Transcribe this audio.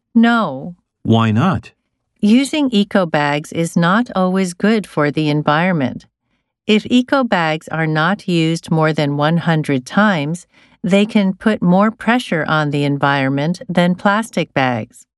No. Why not? Using eco bags is not always good for the environment. If eco bags are not used more than 100 times, they can put more pressure on the environment than plastic bags.